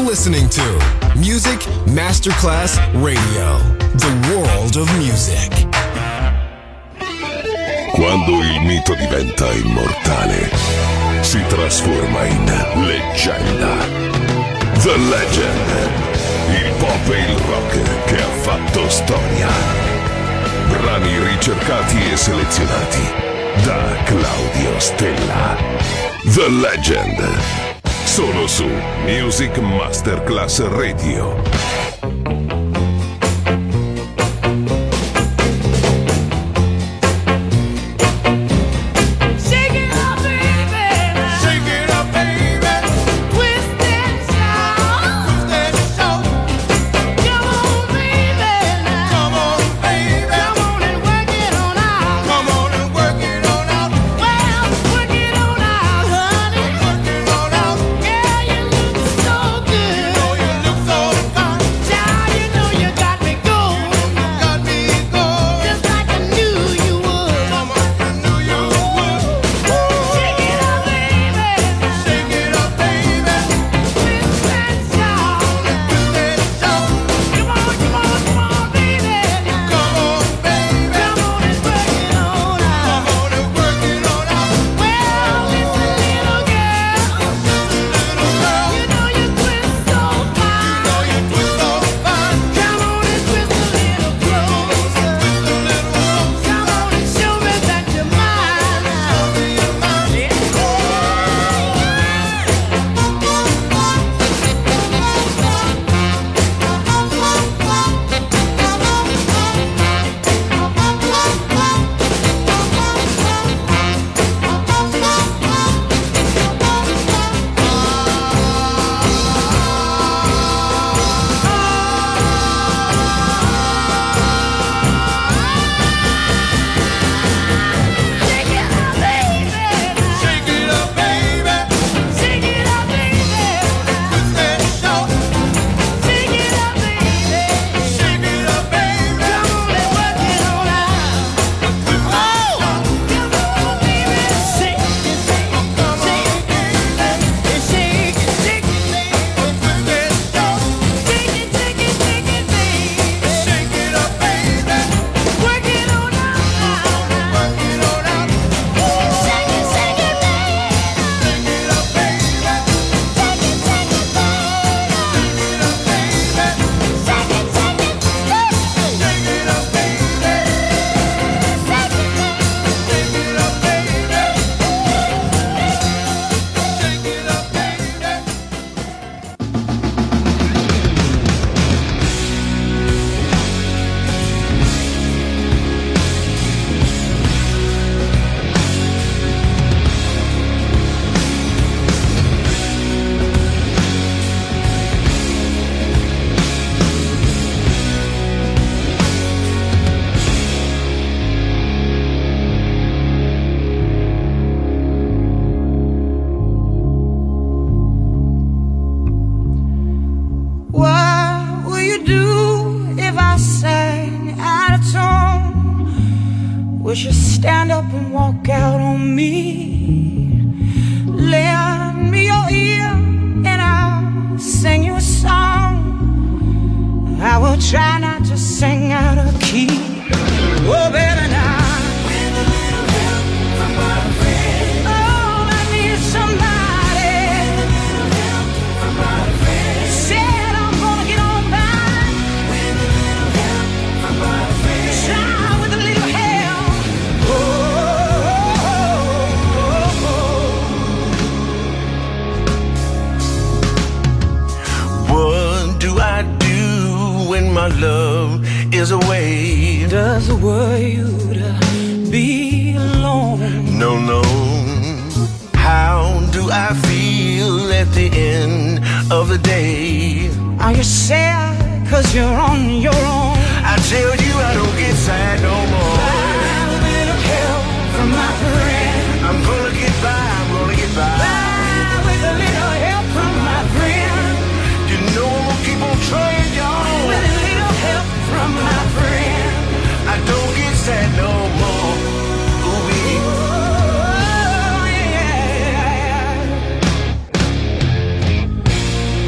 listening to Music Masterclass Radio, the world of music. Quando il mito diventa immortale, si trasforma in leggenda. The Legend, il pop e il rock che ha fatto storia. Brani ricercati e selezionati da Claudio Stella. The Legend, solo su Music Masterclass Radio.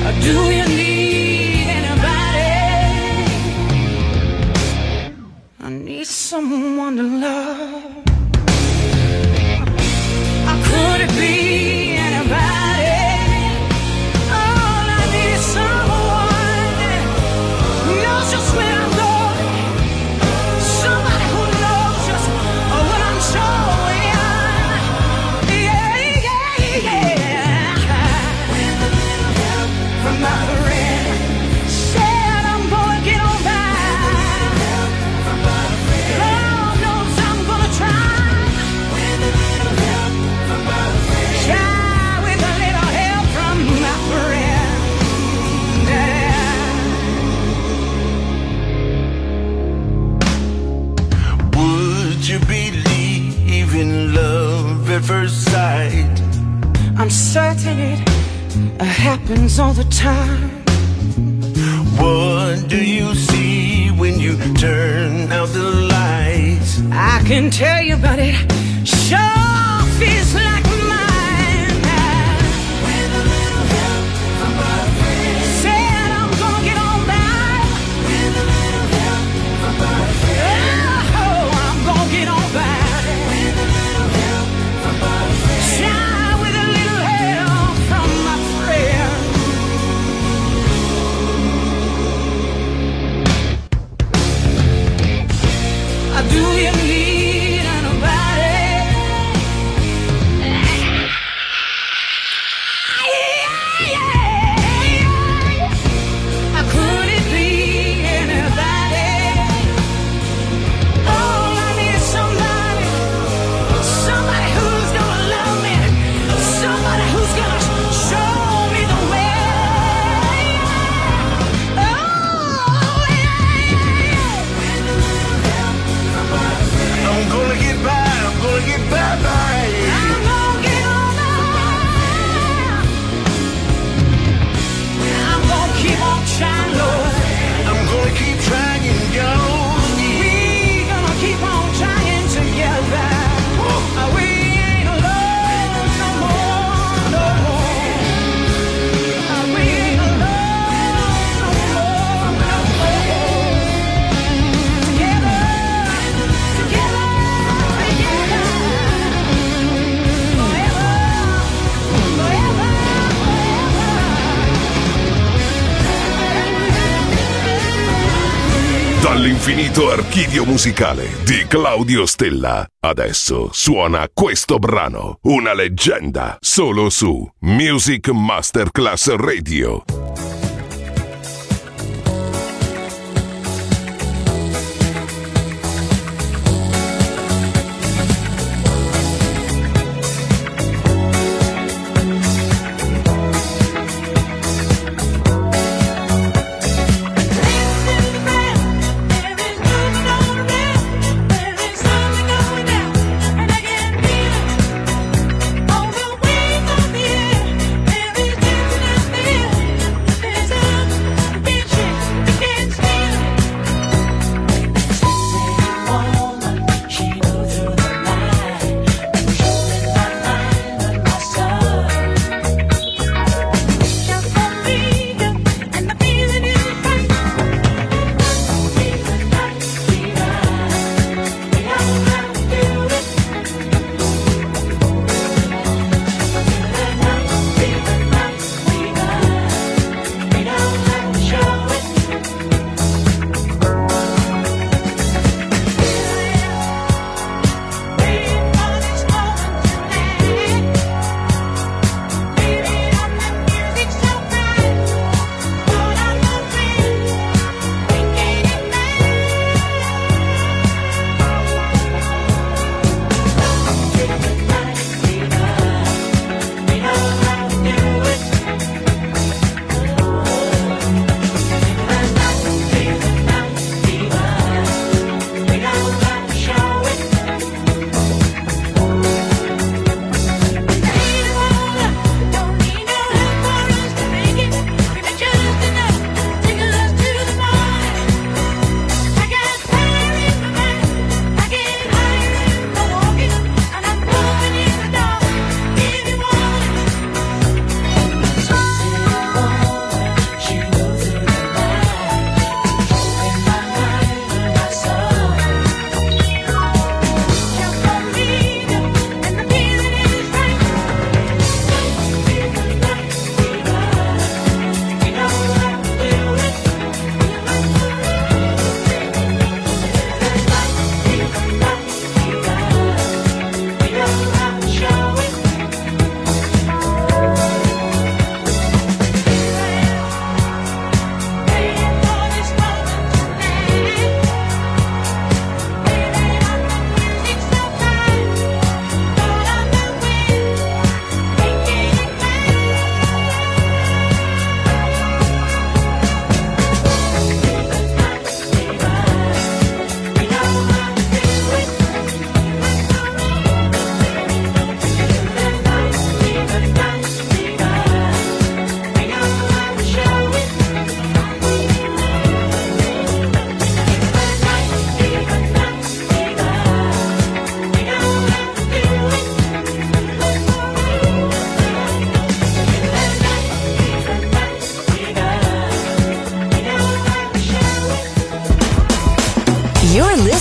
Do you need anybody? I need someone to love. Could it be anybody? All I need is someone who knows just where I'm going. Somebody who knows just what I'm showing. Yeah, yeah, yeah. With a little help from my friend, said I'm gonna get on by. Lord knows I'm gonna try. With a little help from my friend, try with a little help from my friend. Would you believe in love at first sight? I'm certain it happens all the time. What do you see when you turn out the lights? I can tell you, but it sure feels like mine. With a little help from my friend, said I'm gonna get on by. With a little help from my friend, oh, I'm gonna get on by. With a little help from my friend, try with a little help from my friend. Do you need anybody? Could it be anybody? All I need is somebody, somebody who's gonna love me, somebody who's gonna show me the way. Oh, yeah. With a little help from my friend, I'm gonna get by, I'm gonna get by. I'm gonna get on by. I'm gonna keep on trying, Lord. I'm gonna keep trying, yo. We gonna keep on trying together. We ain't alone no more, no more. We ain't alone no more, no more. Together, together, together. Forever, forever, Dall'infinito archivio musicale di Claudio Stella. Adesso suona questo brano, una leggenda, solo su Music Masterclass Radio. Over wings of the air, there is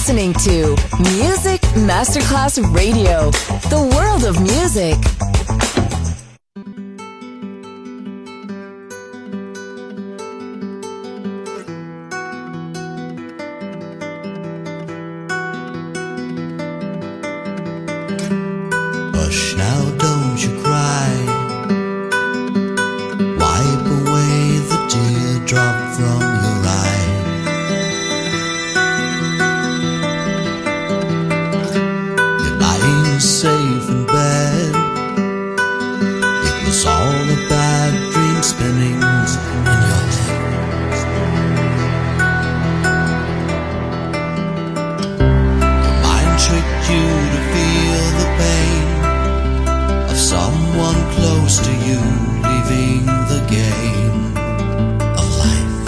listening to Music Masterclass Radio, the world of music. Hush now, don't you cry. Wipe away the teardrop from your eye. You're lying safe in bed. It was all a bad dream spinning in your head. Your mind tricked you to feel the pain of someone close to you leaving the game of life.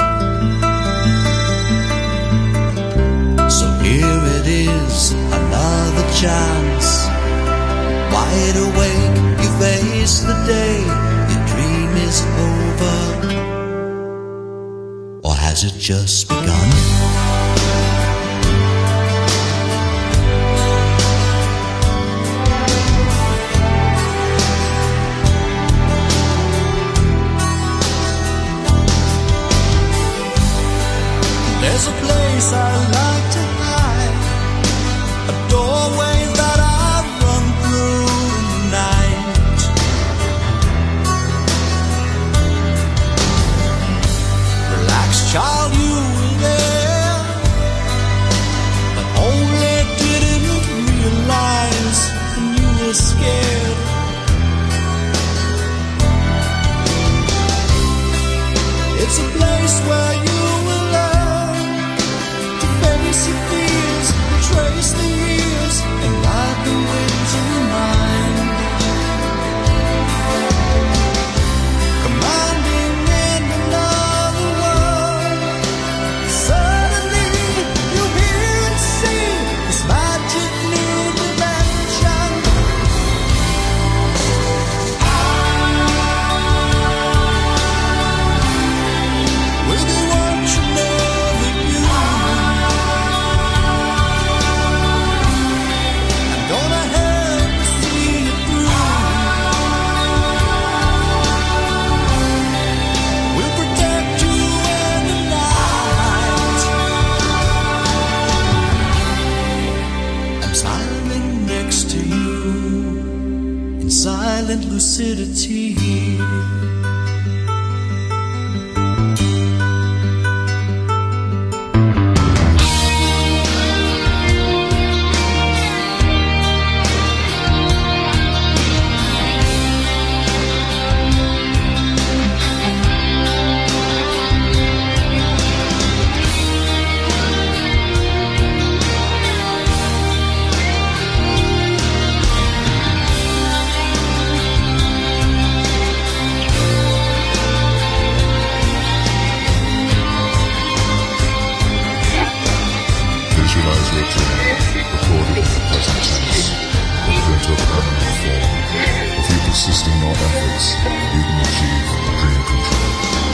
So here it is, another chance. Wide awake, you face the day. Your dream is over, or has it just begun? There's a place I like to hide, a doorway that I run through in the night. Relax, child, you were there, but only didn't realize when you were scared. It's a place where you your fears, trace the years, and ride the winds of your mind. Commanding in another world, suddenly you hear and see this magic new dimension. With the world you never knew. Gonna help you see it through. We'll protect you in the night. I'm silent next to you in silent lucidity. Visualize your dream, recorded in the present tense, put it into a permanent form. With you persisting your efforts, you can achieve dream control.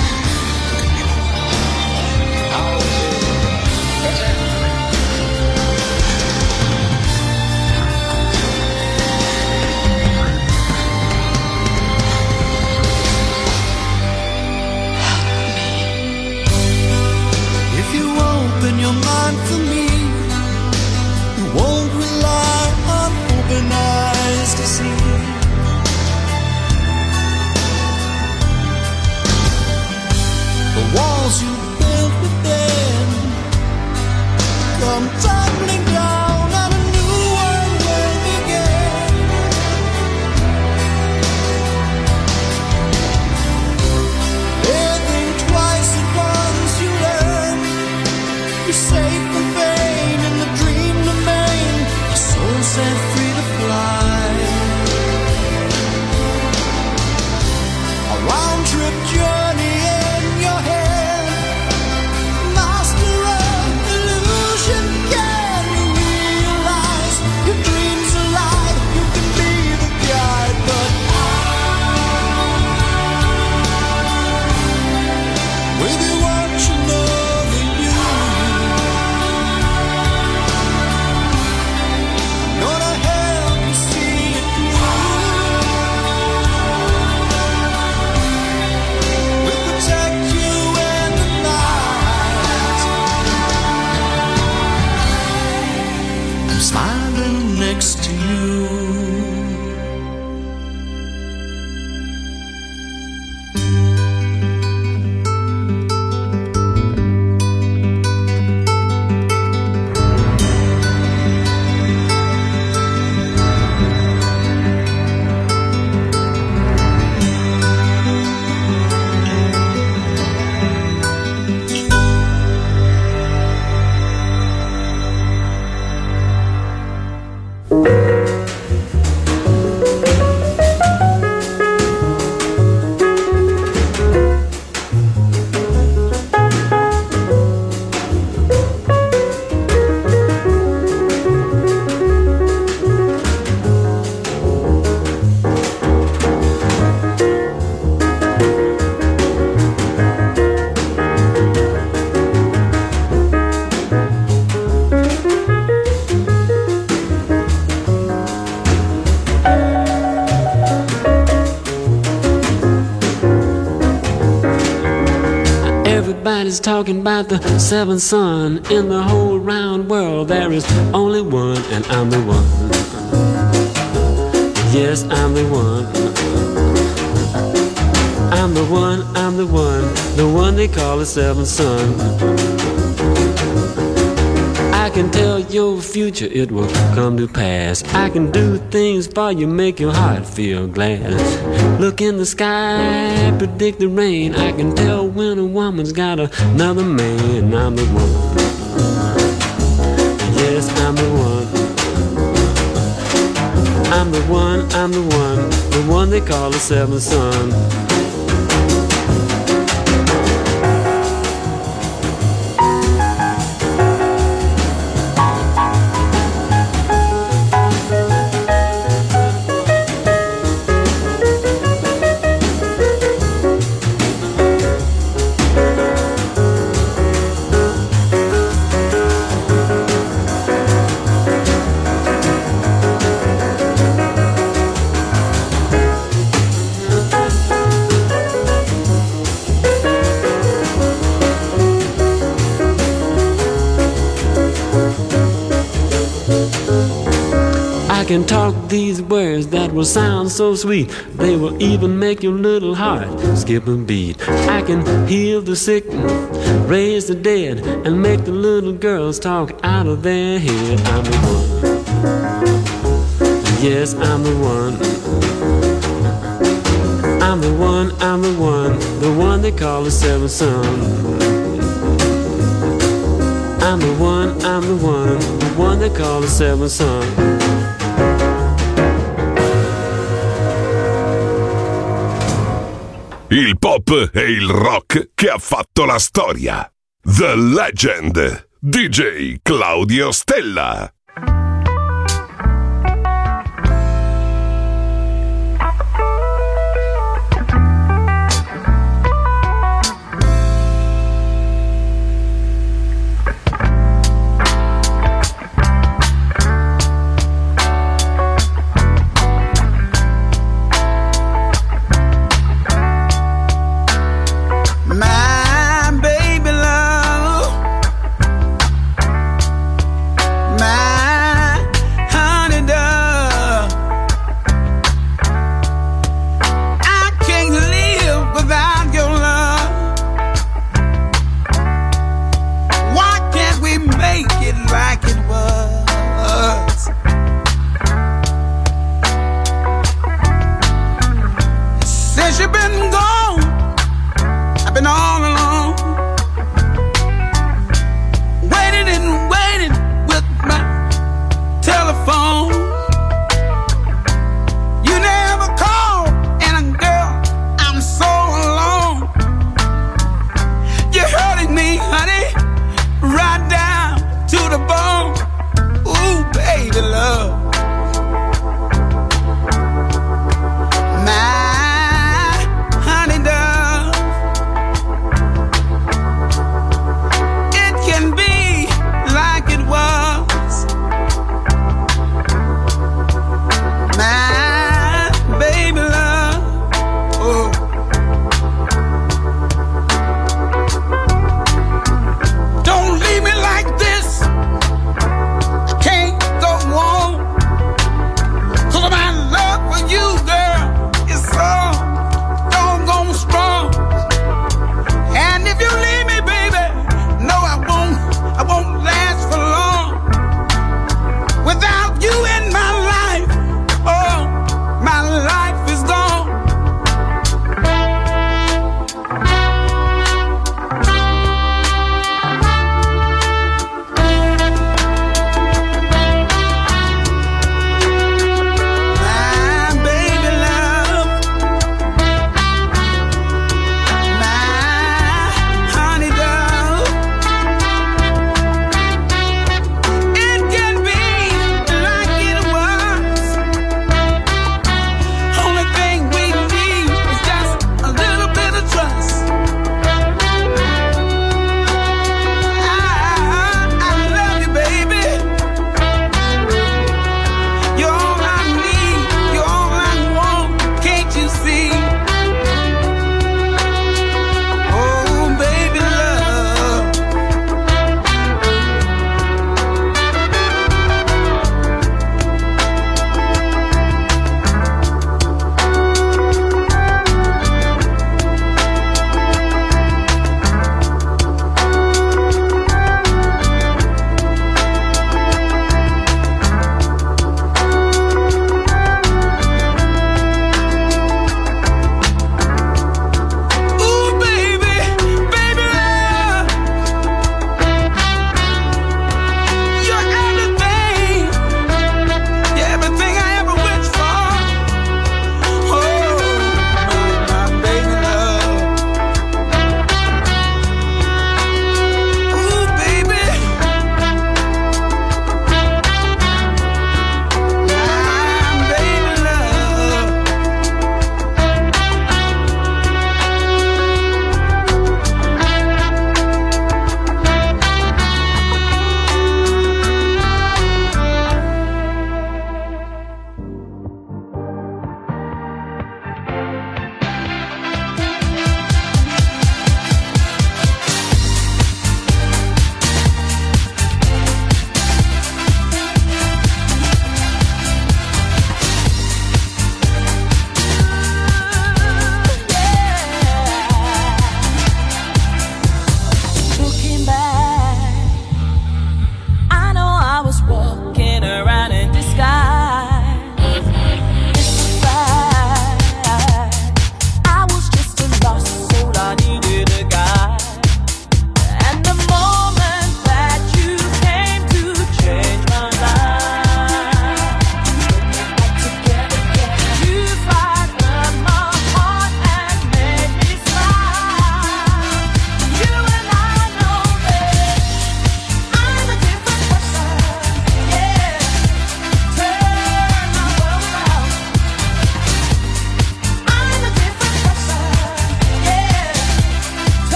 If you open your mind for me, you won't rely on open eyes to see. The walls you built within come tumbling down, and a new one will begin. Living twice at once, you learn. You're safe from pain in the dream domain. Your soul set free to fly. A round trip journey in your head. Everybody's talking about the seventh son. In the whole round world there is only one, and I'm the one. Yes, I'm the one. I'm the one, I'm the one they call the seventh son. I can tell your future, it will come to pass. I can do things for you, make your heart feel glad. Look in the sky, predict the rain. I can tell when a woman's got another man. I'm the one. Yes, I'm the one. I'm the one, I'm the one they call the seventh son. I can talk these words that will sound so sweet. They will even make your little heart skip a beat. I can heal the sick, raise the dead, and make the little girls talk out of their head. I'm the one. Yes, I'm the one. I'm the one, I'm the one they call the seventh son. I'm the one they call the seventh son. Il pop e il rock che ha fatto la storia. The Legend, DJ Claudio Stella. My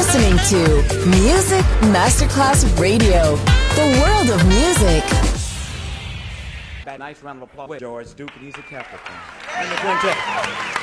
listening to Music Masterclass Radio, the world of music. Nice round of applause with George Duke, and he's a Capricorn. And the quintet.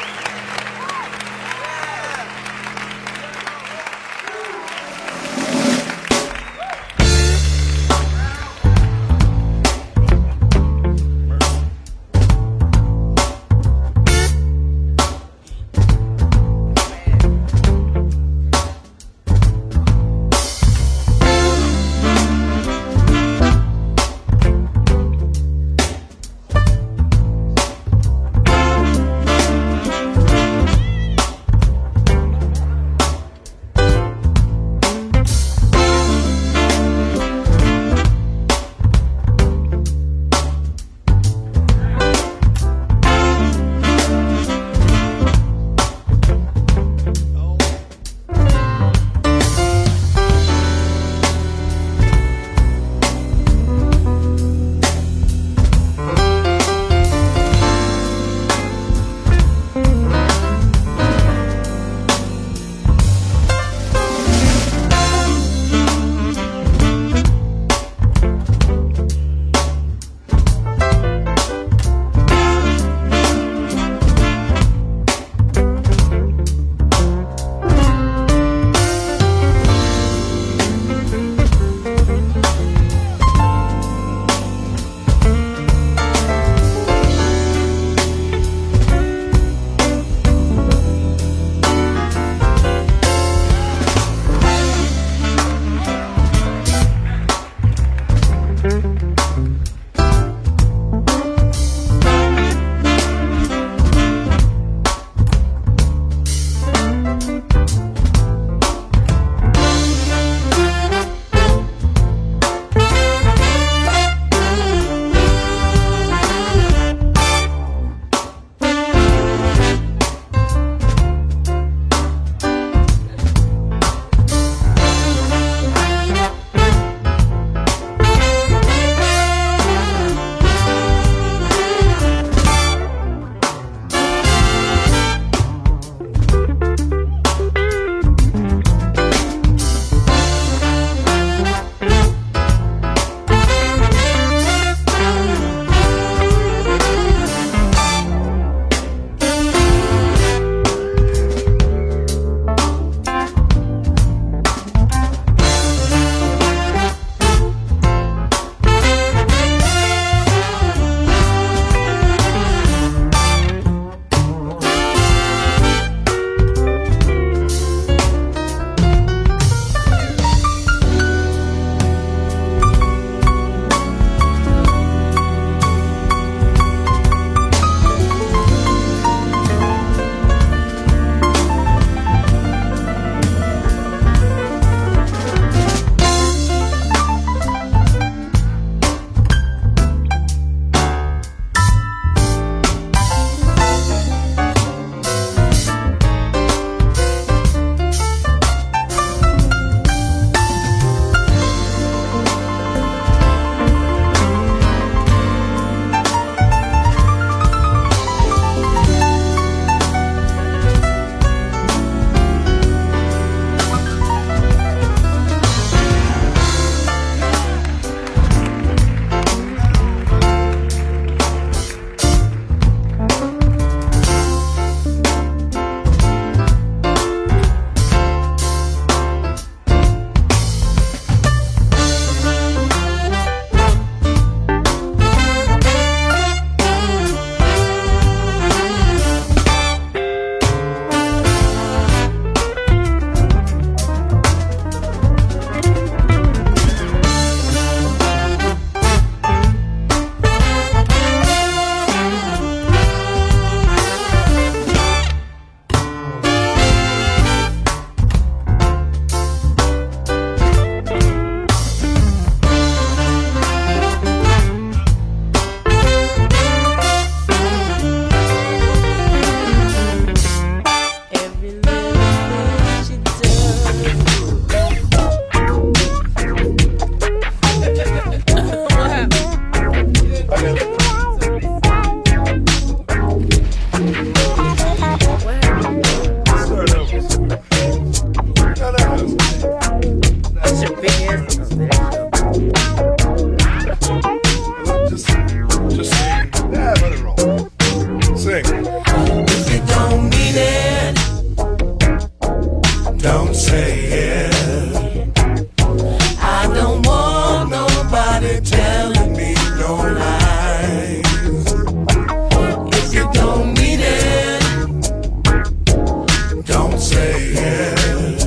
don't say it. I don't want nobody telling me no lies. If you don't mean it, don't say it.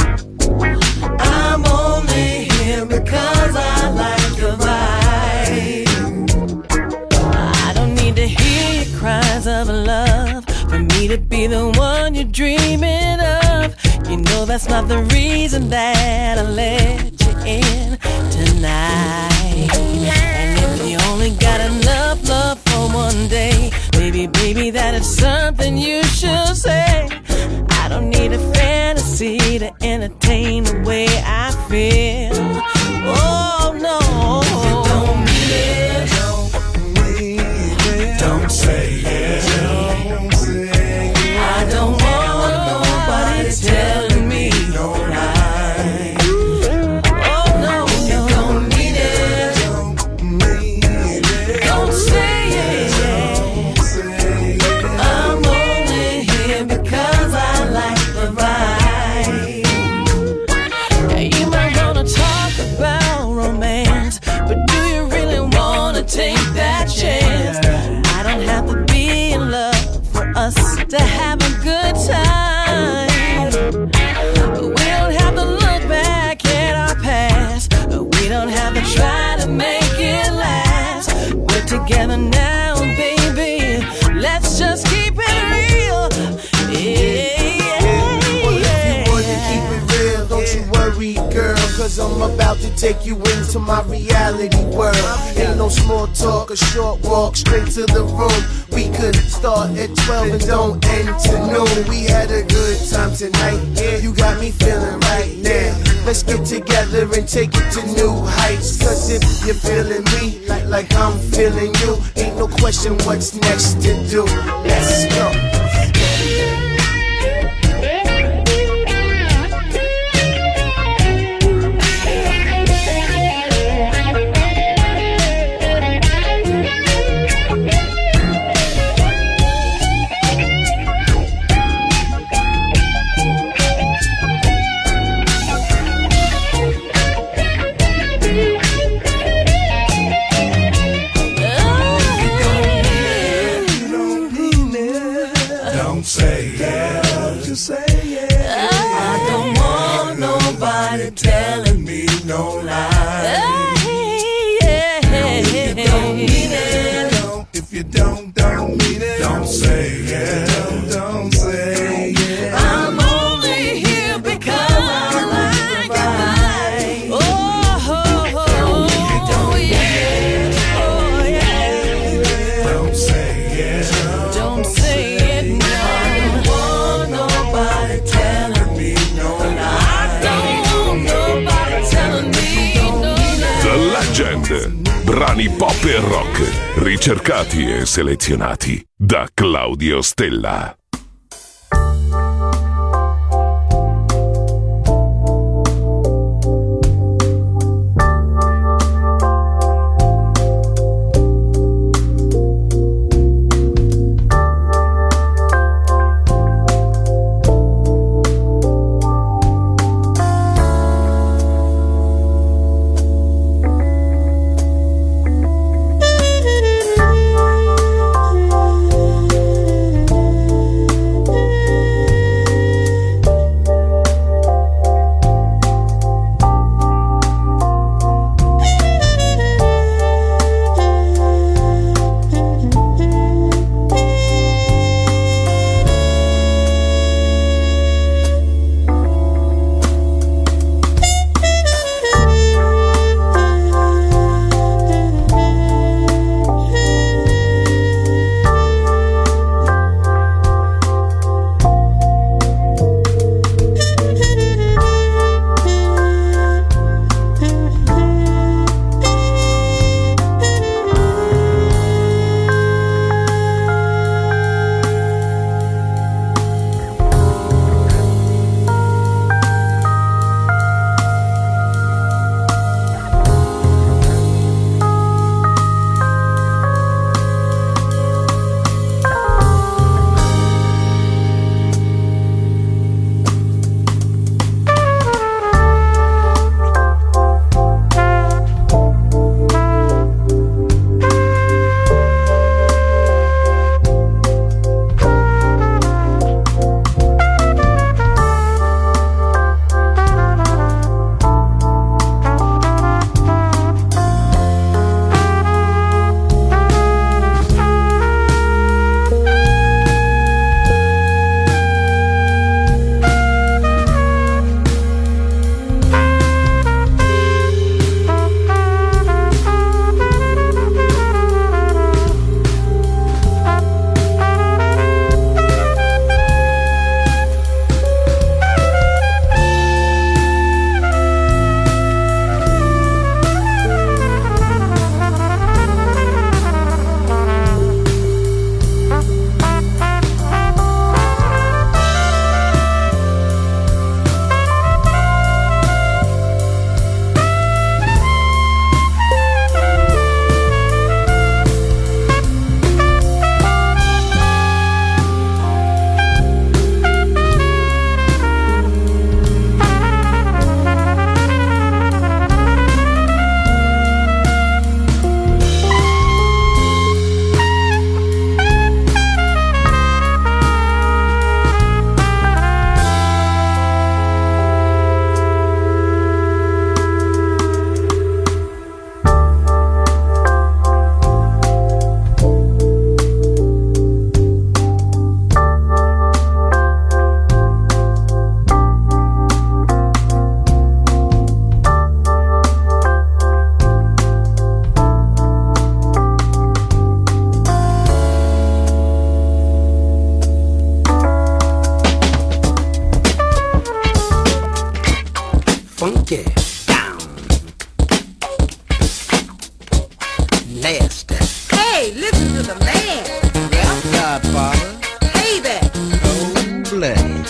I'm only here because I like your vibe. I don't need to hear your cries of love for me to be the one you're dreaming of. You know that's not the reason that I let you in tonight. And if you only got enough love for one day, baby, that is something you should say. I don't need a fantasy to entertain the way I feel. Oh no. If you don't mean it, don't say it. I don't want nobody telling me no lie. Oh no. If you don't mean it, don't say it. I'm only here because I like the vibe. You might wanna talk about romance, but do you really wanna take that chance? I don't have to be in love for us to have a good time. We don't have to look back at our past. We don't have to try to make it last. We're together now, baby. Let's just keep it real. Keep it real, don't you worry, girl, cause I'm about to take you into my reality world. Ain't no small talk, a short walk straight to the room. We could start at 12 and don't end till noon. We had a good time tonight, you got me feeling right now. Let's get together and take it to new heights. Cause if you're feeling me like I'm feeling you, ain't no question what's next to do. Let's go. Don't say it. Just say it. I don't want nobody telling me no lies. If you don't mean it, if you don't mean it, don't say it. Don't say it. I'm only here because I like the vibe. Oh, If you don't mean it, don't say it. don't say it now. Nobody telling me no lie. Don't want nobody telling me no lie. The Legend. Brani pop e rock, ricercati e selezionati da Claudio Stella. funky, down, nasty. Hey, listen to the man. Rap Godfather. Hey there. Cold-blooded.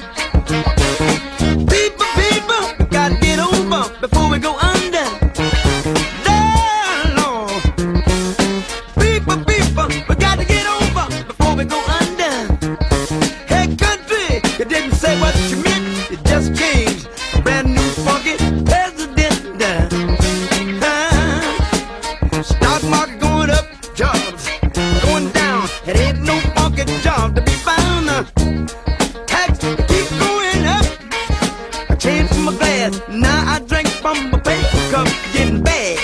People, we gotta get over before we go under. There, Lord. People, we gotta get over before we go under. Hey, country, you didn't say what you meant, you just changed. A brand new funky president. Stock market going up, jobs going down. It ain't no funky job to be found. Tax keep going up. I changed from a glass, now I drink from a paper cup, getting bad.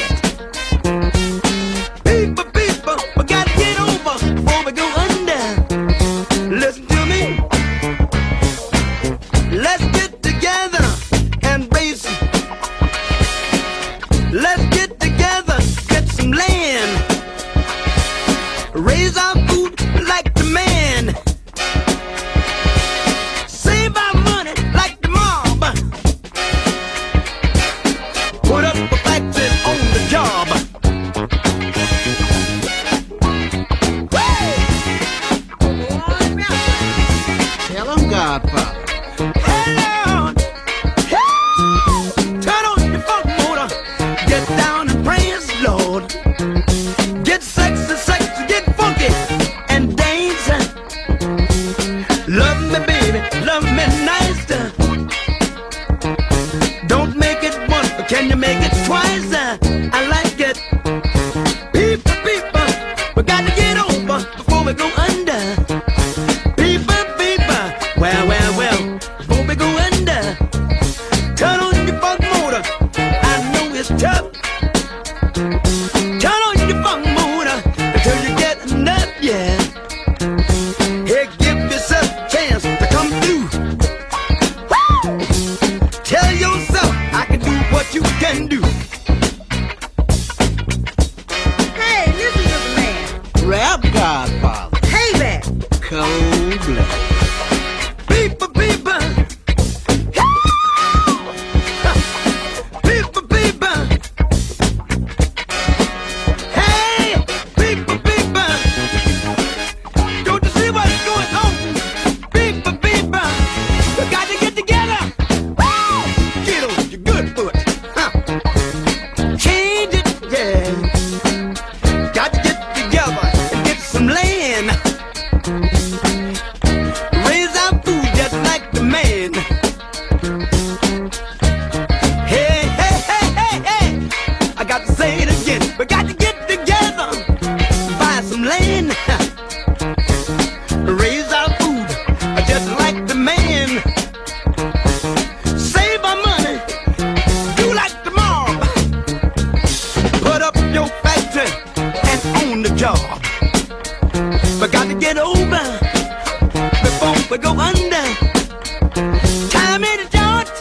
People, we gotta get over before we go under. Listen to me. Let's get together and raise. Let's get together, get some land. Raise our food like the man. Save our money like the mob. Put up a factory on the job. Tell him, Godfather. Hello. Turn on your funk motor. Get down and praise the Lord. Get sexy, get funky and dance. Love me, baby, love me nice. Don't make it once, but can you make it twice? I like it. People, we gotta get over before we go under. People, well, before we go under. Turn on your funk motor. I know it's tough. Turn on your funk motor until you get enough, yeah. Hey, give yourself a chance to come through. Woo! Tell yourself I can do what you can do. Hey, listen to the man. Rap Godfather. Hey there. Cold-blooded. People. People. Hey, people. Don't you see what's going on? People. We got to get together. Woo! Get on your good foot. Change it, yeah. Got to get together and get some land. Raise our food just like the man. Hey. I got to say it again. We got to get together, buy some land. Raise our food just like the man. Save our money, do like the mob. Put up your factory and own the job. We got to get over before we go under. Time in the joint.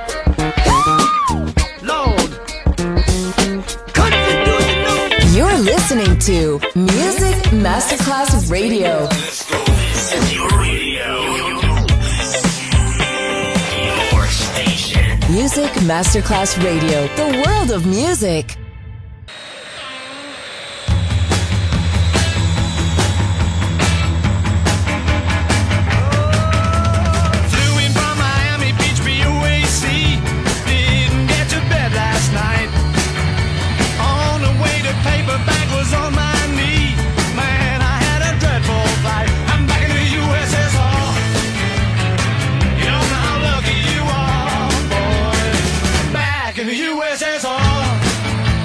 Lord. Country, do you know? You're listening to Music Masterclass Radio. Your station. Music Masterclass Radio, the world of music. Flew in from Miami Beach, BOAC. Didn't get to bed last night. On the way to paperback was on my knee. Man, I had a dreadful flight. I'm back in the USSR. You don't know how lucky you are, boy. Back in the USSR.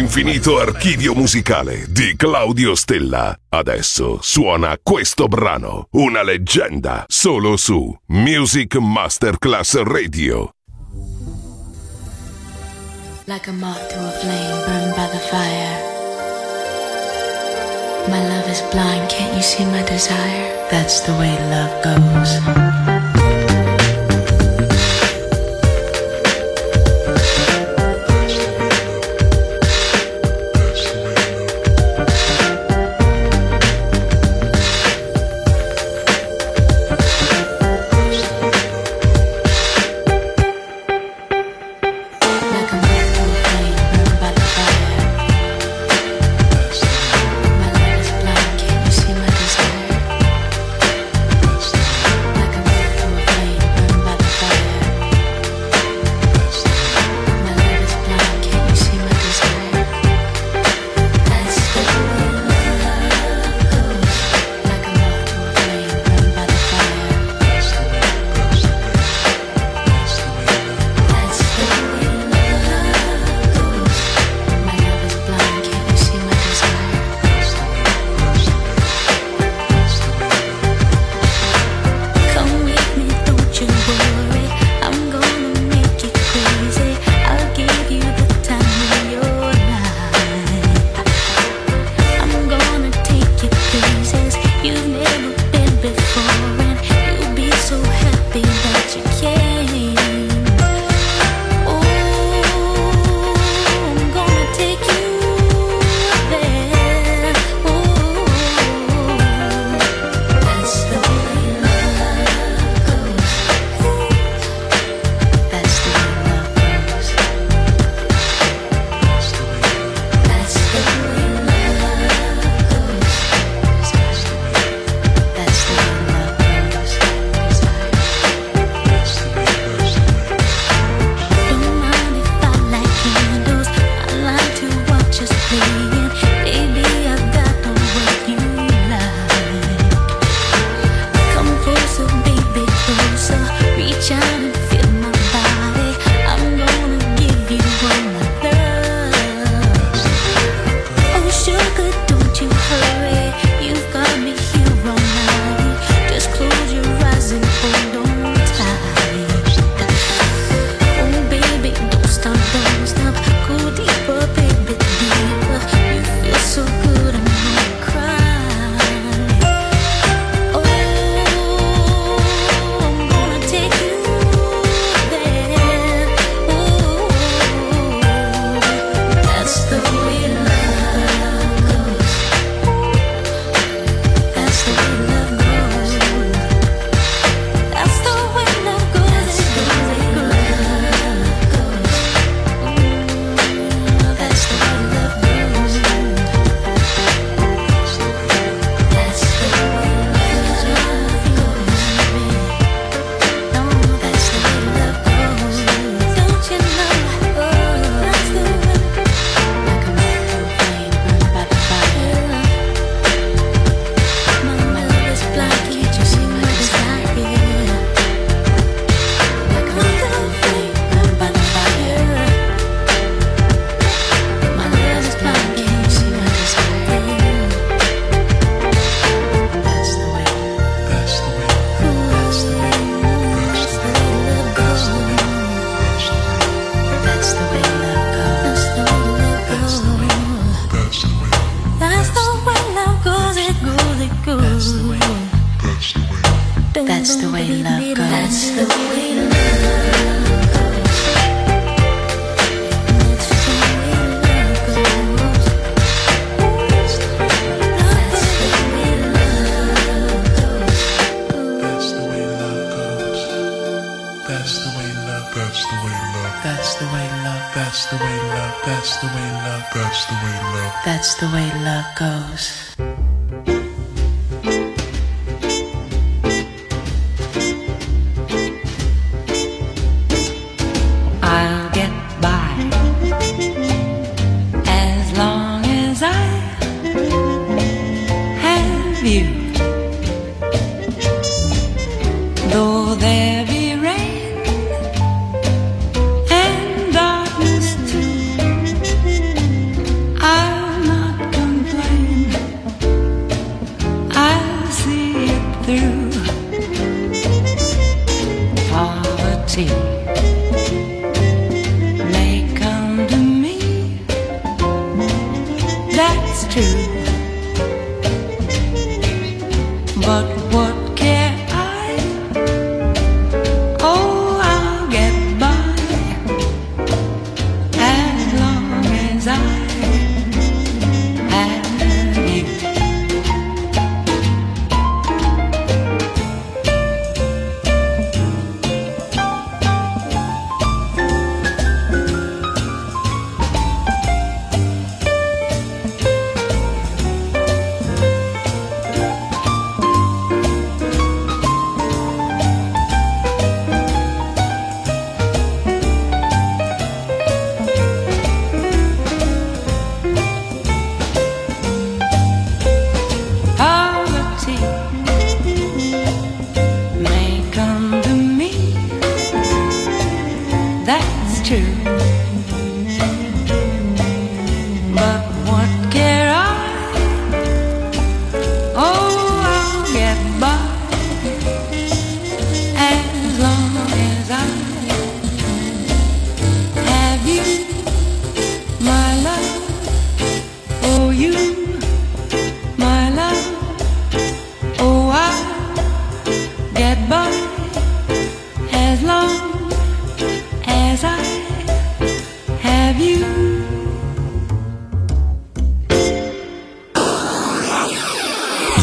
l'infinito archivio musicale di Claudio Stella. Adesso suona questo brano, una leggenda, solo su Music Masterclass Radio. Like a moth to a flame burned by the fire. My love is blind, can't you see my desire? That's the way love goes. That's the way love goes. That's the way love That's the way love, that's the way love, that's the way love, that's the way love, that's the way love, that's the way love, that's the way love goes. I'll get by as long as I have you. Though there be rain and darkness too,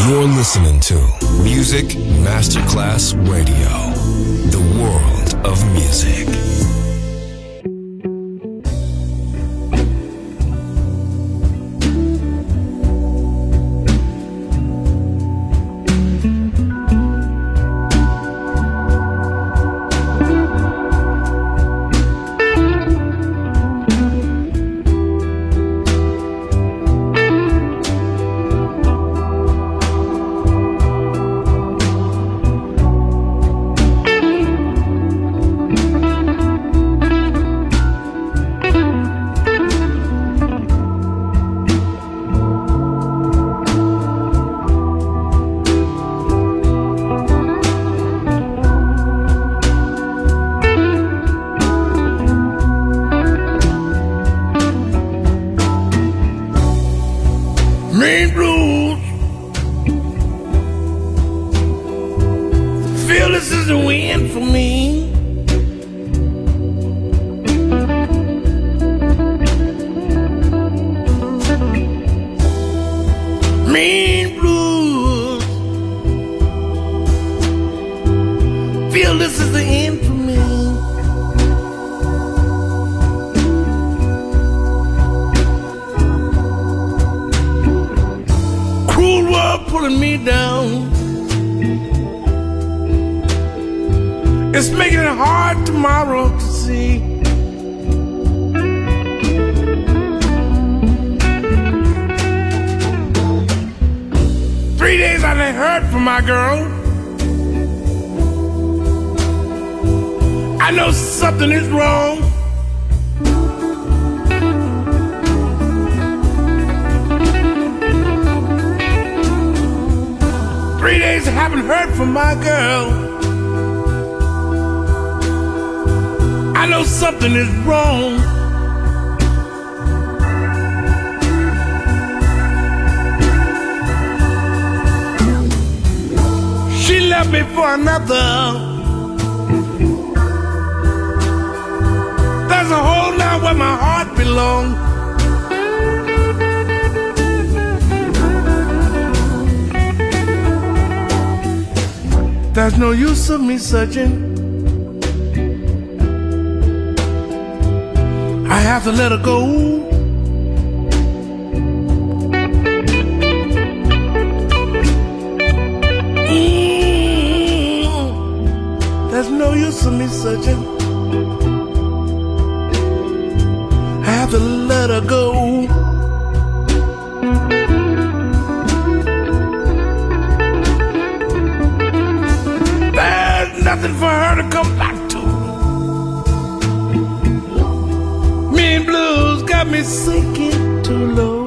You're listening to Music Masterclass Radio, the world of music. It's making it hard tomorrow to see. Three days I ain't heard from my girl. I know something is wrong. Three days I haven't heard from my girl. I know something is wrong. She left me for another. There's a hole now where my heart belongs. There's no use of me searching. I have to let her go. There's no use of me searching. I have to let her go. There's nothing for her to come back to. Mean blues got me sinking too low.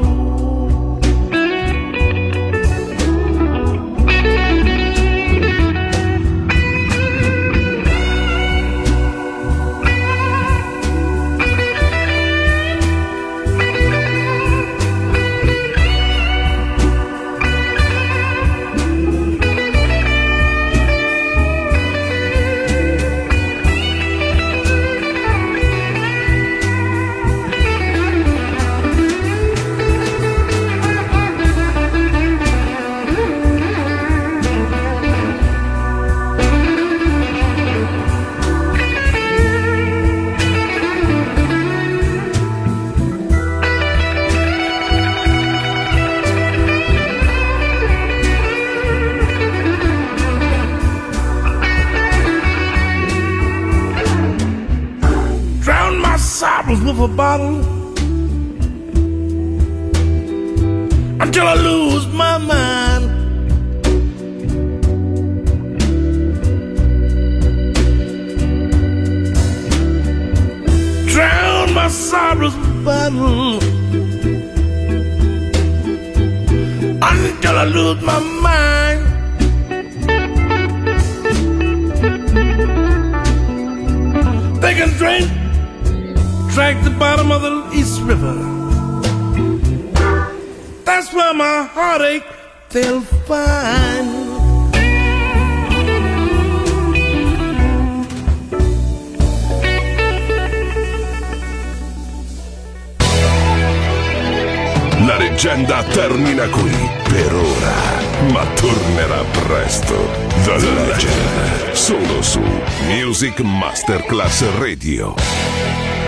With a bottle until I lose my mind. Drown my sorrows with a bottle until I lose my mind. They can drink the bottom of the East River. That's where my heartache they'll find. La leggenda termina qui per ora, ma tornerà presto. The Legend, solo su Music Masterclass Radio.